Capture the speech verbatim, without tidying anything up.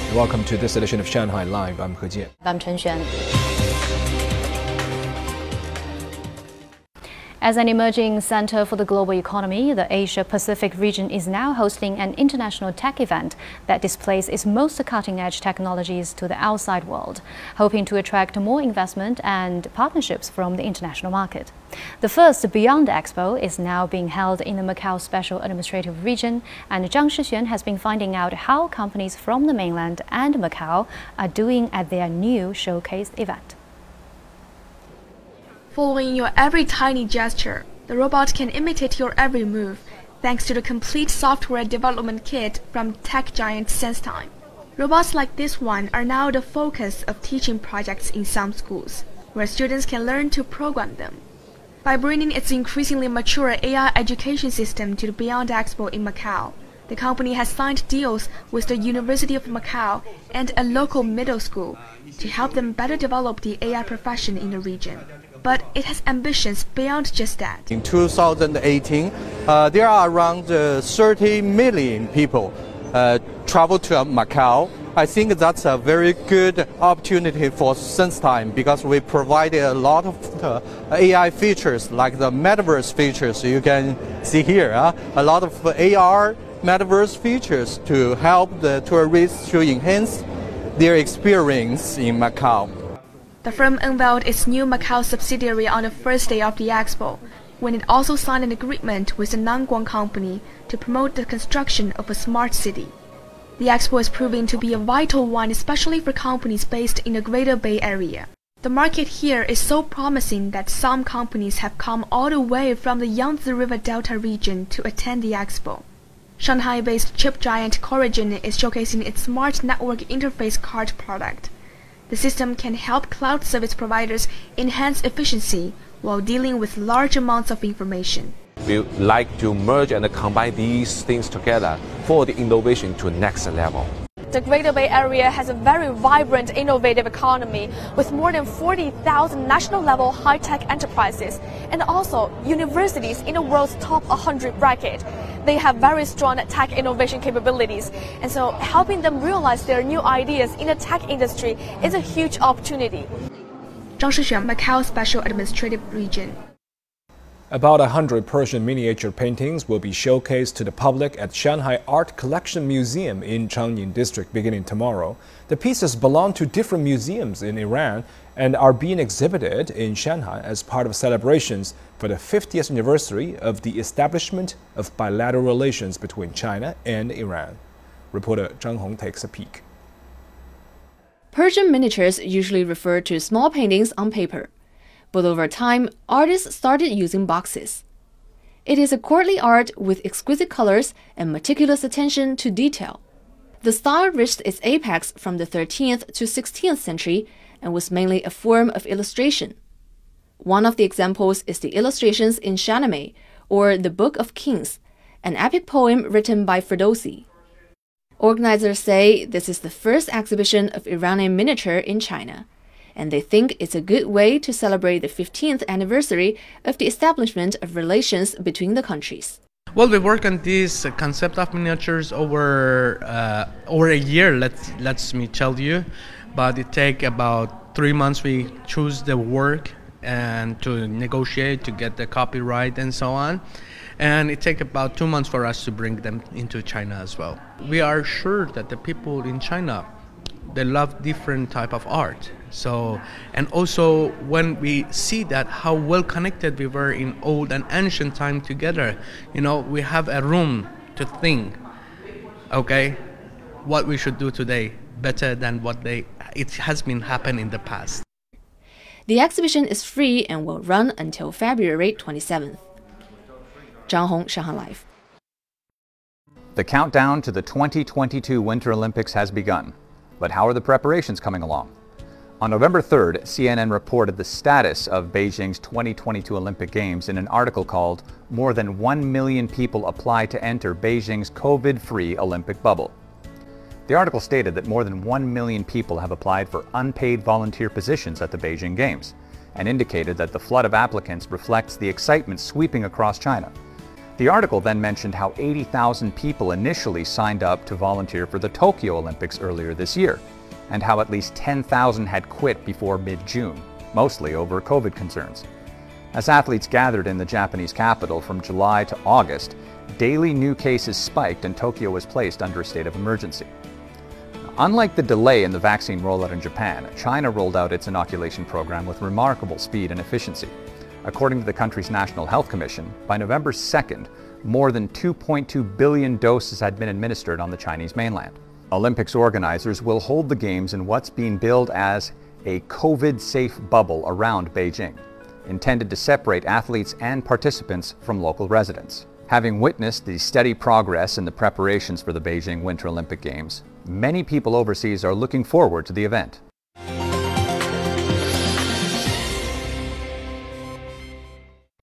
Welcome to this edition of Shanghai Live. I'm He Jian. I'm Chen Xuan. As an emerging center for the global economy, the Asia-Pacific region is now hosting an international tech event that displays its most cutting-edge technologies to the outside world, hoping to attract more investment and partnerships from the international market. The first Beyond Expo is now being held in the Macau Special Administrative Region, and Zhang Shixuan has been finding out how companies from the mainland and Macau are doing at their new showcase event. Following your every tiny gesture, the robot can imitate your every move, thanks to the complete software development kit from tech giant SenseTime. Robots like this one are now the focus of teaching projects in some schools, where students can learn to program them. By bringing its increasingly mature A I education system to the Beyond Expo in Macau, the company has signed deals with the University of Macau and a local middle school to help them better develop the A I profession in the region. But it has ambitions beyond just that. In two thousand eighteen, uh, there are around uh, thirty million people uh, travel to Macau. I think that's a very good opportunity for SenseTime because we provide a lot of uh, A I features like the metaverse features you can see here. Uh, a lot of A R metaverse features to help the tourists to enhance their experience in Macau. The firm unveiled its new Macau subsidiary on the first day of the expo, when it also signed an agreement with the Nanguang company to promote the construction of a smart city. The expo is proving to be a vital one, especially for companies based in the Greater Bay Area. The market here is so promising that some companies have come all the way from the Yangtze River Delta region to attend the expo. Shanghai-based chip giant Coragen is showcasing its smart network interface card product. The system can help cloud service providers enhance efficiency while dealing with large amounts of information. We like to merge and combine these things together for the innovation to next level. The Greater Bay Area has a very vibrant, innovative economy with more than forty thousand national-level high-tech enterprises and also universities in the world's top one hundred bracket. They have very strong tech innovation capabilities, and so helping them realize their new ideas in the tech industry is a huge opportunity. Zhang Shixuan, Macau Special Administrative Region. About one hundred Persian miniature paintings will be showcased to the public at Shanghai Art Collection Museum in Changning District beginning tomorrow. The pieces belong to different museums in Iran and are being exhibited in Shanghai as part of celebrations for the fiftieth anniversary of the establishment of bilateral relations between China and Iran. Reporter Zhang Hong takes a peek. Persian miniatures usually refer to small paintings on paper. But over time, artists started using boxes. It is a courtly art with exquisite colors and meticulous attention to detail. The style reached its apex from the thirteenth to sixteenth century and was mainly a form of illustration. One of the examples is the illustrations in Shahnameh, or the Book of Kings, an epic poem written by Ferdowsi. Organizers say this is the first exhibition of Iranian miniature in China, and they think it's a good way to celebrate the fifteenth anniversary of the establishment of relations between the countries. Well, we work on this uh, concept of miniatures over uh, over a year. Let's let's me tell you, but it take about three months. We choose the work and to negotiate to get the copyright and so on, and it take about two months for us to bring them into China as well. We are sure that the people in China, they love different type of art. So, and also when we see that how well connected we were in old and ancient time together, you know, we have a room to think, okay, what we should do today better than what they it has been happening in the past. The exhibition is free and will run until February twenty-seventh. Zhang Hong, Shanghai Live. The countdown to the twenty twenty-two Winter Olympics has begun, but how are the preparations coming along? On November third, C N N reported the status of Beijing's twenty twenty-two Olympic Games in an article called "More than one million people apply to enter Beijing's COVID-free Olympic bubble." The article stated that more than one million people have applied for unpaid volunteer positions at the Beijing Games, and indicated that the flood of applicants reflects the excitement sweeping across China. The article then mentioned how eighty thousand people initially signed up to volunteer for the Tokyo Olympics earlier this year, and how at least ten thousand had quit before mid-June, mostly over COVID concerns. As athletes gathered in the Japanese capital from July to August, daily new cases spiked and Tokyo was placed under a state of emergency. Unlike the delay in the vaccine rollout in Japan, China rolled out its inoculation program with remarkable speed and efficiency. According to the country's National Health Commission, by November second, more than two point two billion doses had been administered on the Chinese mainland. Olympics organizers will hold the Games in what's being billed as a COVID-safe bubble around Beijing, intended to separate athletes and participants from local residents. Having witnessed the steady progress in the preparations for the Beijing Winter Olympic Games, many people overseas are looking forward to the event.